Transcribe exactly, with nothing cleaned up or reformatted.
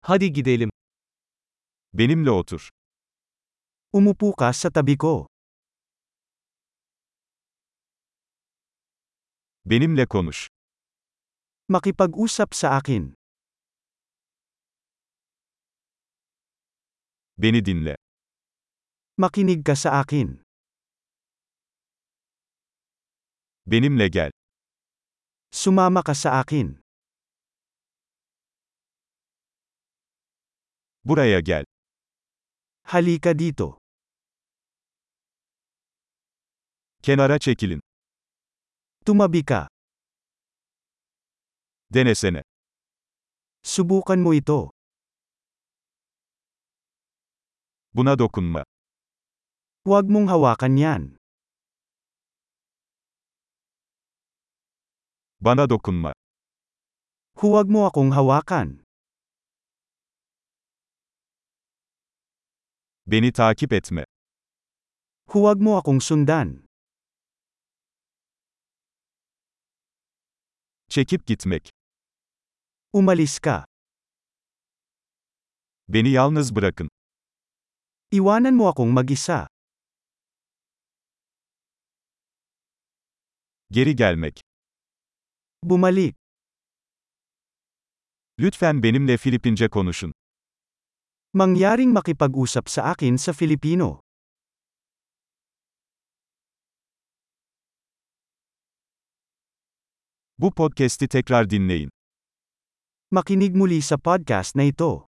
Hadi gidelim. Benimle otur. Umupo ka sa tabi ko. Benimle konuş. Makipag-usap sa akin. Beni dinle. Makinig ka sa akin. Benimle gel. Sumama ka sa akin. Buraya gel. Halika dito. Kenara çekilin. Tumabi ka. Denesene. Subukan mo ito. Buna dokunma. Huwag mong hawakan yan. Bana dokunma. Huwag mo akong hawakan. Beni takip etme. Huwag mo akong sundan. Çekip gitmek. Umalis ka. Beni yalnız bırakın. Iwanan mo akong mag-isa. Geri gelmek. Bumalik. Lütfen benimle Filipince konuşun. Mangyaring makipag-usap sa akin sa Filipino. Bu podcast'i tekrar dinleyin. Makinig muli sa podcast na ito.